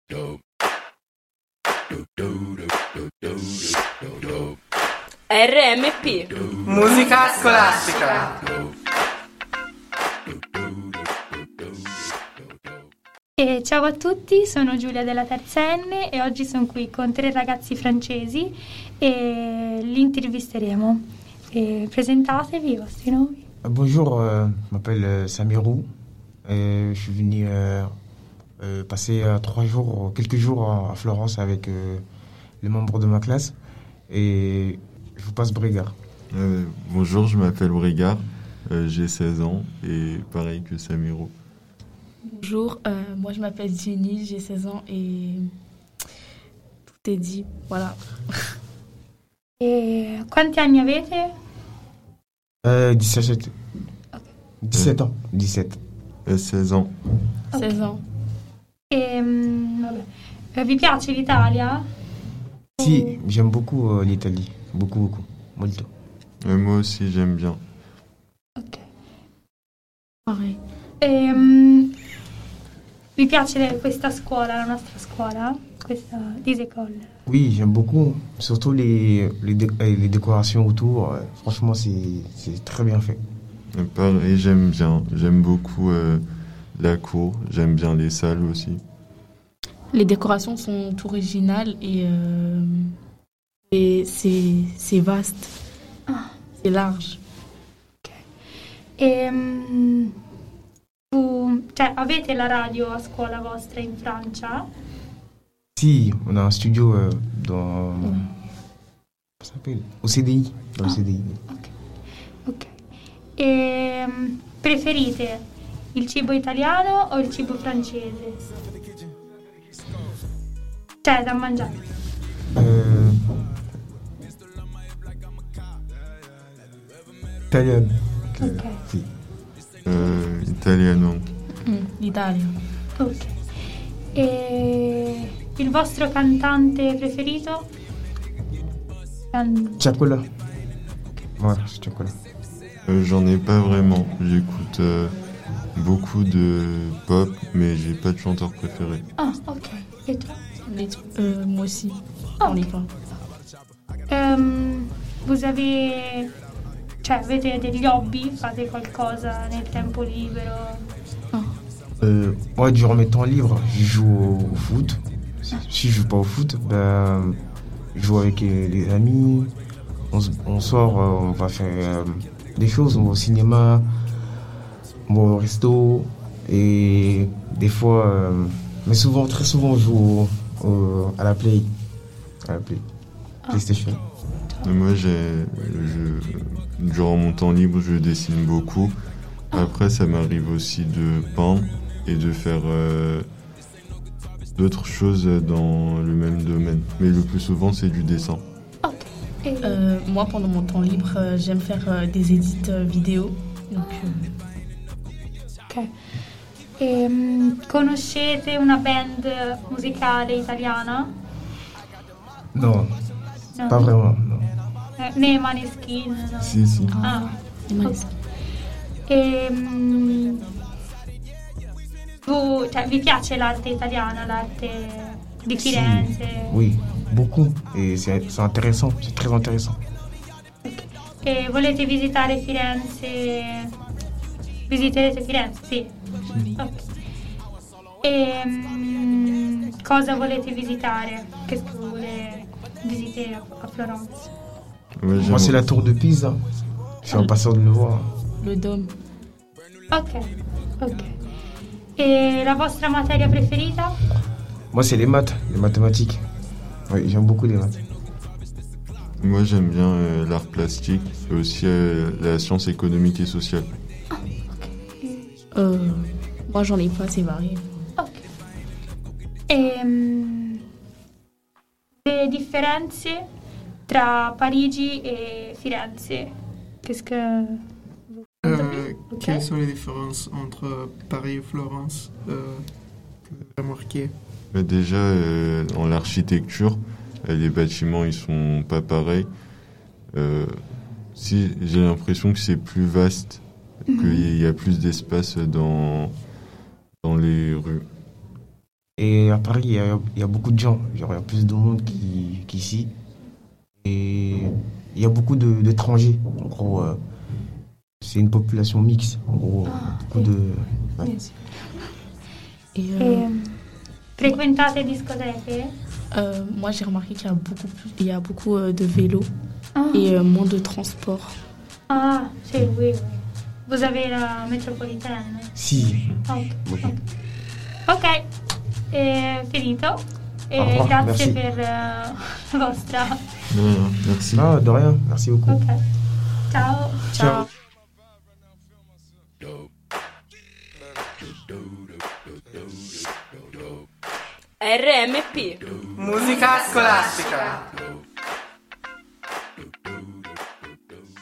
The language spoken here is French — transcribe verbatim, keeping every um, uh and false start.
R M P Musica scolastica. E ciao a tutti, sono Giulia della terza N e oggi sono qui con tre ragazzi francesi e li intervisteremo. E presentatevi i vostri nomi. Bonjour, euh, je m'appelle Samirou. Et je suis venu euh, euh, passer euh, trois jours, quelques jours à Florence avec euh, les membres de ma classe. Et je vous passe Brigard. Euh, bonjour, je m'appelle Brigard, euh, j'ai seize ans et pareil que Samirou. Bonjour, euh, moi je m'appelle Jenny, j'ai seize ans et tout est dit, voilà. E quanti anni avete? Euh, dix-sept. Ok. dix-sept ans. dix-sept. Euh, seize ans. Ok. seize ans. E, mm, vabbè. Eh, vi piace l'Italia? Si, j'aime beaucoup euh, l'Italie. Beaucoup, beaucoup. Molto. Euh, moi aussi, j'aime bien. Ok. Pareil. E, mm, vi piace questa scuola, la nostra scuola? Questa Disecole? Oui, j'aime beaucoup. Surtout les, les, dé- euh, les décorations autour. Euh, franchement, c'est, c'est très bien fait. Euh, pareil, j'aime bien. J'aime beaucoup euh, la cour, j'aime bien les salles aussi. Les décorations sont originales et, euh, et c'est, c'est vaste, Ah, c'est large. ok. E, mm, tu, cioè, avete la radio a scuola vostra in Francia? Si, on a un studio euh, dans. Comment ça s'appelle Au C D I. Dans le Ah. C D I. Ok. Ok. E, mm, preferite il cibo italiano o il cibo francese? Cioè, da mangiare. Euh, Italienne. Ok. Si. Euh, italiano. Mm, L'Italia. Ok. E il vostro cantante preferito? Can- Chocolat. Voilà, c'est chocolat. Euh, j'en ai pas vraiment. J'écoute euh, beaucoup de pop, mais j'ai pas de chanteur préféré. Ah, ok. E tu? Les- euh, moi aussi, Ah, on n'est ok. pas. Ehm, vous avez... Cioè, avete degli hobby? Fate qualcosa nel tempo libero? Euh, moi, durant mes temps libres, je joue au, au foot. Si, si je joue pas au foot, ben, je joue avec euh, les amis. On, s- on sort, euh, on va faire euh, des choses. On va au cinéma, on va au resto. Et des fois, euh, mais souvent, très souvent, on joue au- au- à la Play. À la Play. PlayStation. Et moi, j'ai, je, durant mon temps libre, je dessine beaucoup. Après, ça m'arrive aussi de peindre et de faire euh, d'autres choses dans le même domaine. Mais le plus souvent, c'est du dessin. Ok. E, Euh, moi, pendant mon temps libre, euh, j'aime faire euh, des édits euh, vidéo. Donc, euh, ok. Ehm, conoscete una band musicale italiana? Non, No. pas vraiment. Non. Eh, né Maneskin? No. Si, si. Ah. les malis- Ehm, tu, cioè, vi piace l'arte italiana, l'arte di Firenze? Oui, beaucoup. Et c'est, c'est intéressant. C'est très intéressant. E volete visitare Firenze? Visiterete Firenze? Sì. Ok. Ehm, cosa volete visitare? Che vuole visitare a, a Florence? Ouais, Moi, j'aime- c'est la tour de Pise. hein. Je suis impatient de le voir. le dôme. Ok, ok. E la vostra materia preferita? Moi, c'est les maths, les mathématiques. Oui, j'aime beaucoup les maths. Moi, j'aime bien euh, l'art plastique et aussi euh, la science économique et sociale. Euh, moi, j'en ai pas, c'est varié. Ok. Ehm, le differenze tra Parigi e Firenze? Qu'est-ce que... Euh, Ok. Quelles sont les différences entre Paris et Florence euh, que vous avez remarqué? Mais déjà, euh, dans l'architecture, euh, les bâtiments, ils sont pas pareils. Euh, si j'ai l'impression que c'est plus vaste, qu'il y a plus d'espace dans, dans les rues. Et Et à Paris, il y a, il y a beaucoup de gens. Genre, il y a plus de monde qui- qu'ici. Et il y a beaucoup de- d'étrangers. En gros, euh, c'est une population mixte. En gros, beaucoup de. Ouais. Et, euh, E, frequentate discoteche? euh, moi, j'ai remarqué qu'il y a beaucoup, plus, il y a beaucoup euh, de vélos Ah, et euh, moins de transport. ah, sì, oui, oui. Vous avez la metropolitaine? Si. Ok. Beaucoup. Ok, è finito. E Au revoir, grazie merci. per eh, la vostra. De rien, merci. Ah, de rien. Merci beaucoup. Ok. Ciao. Ciao. R M P. Musica scolastica.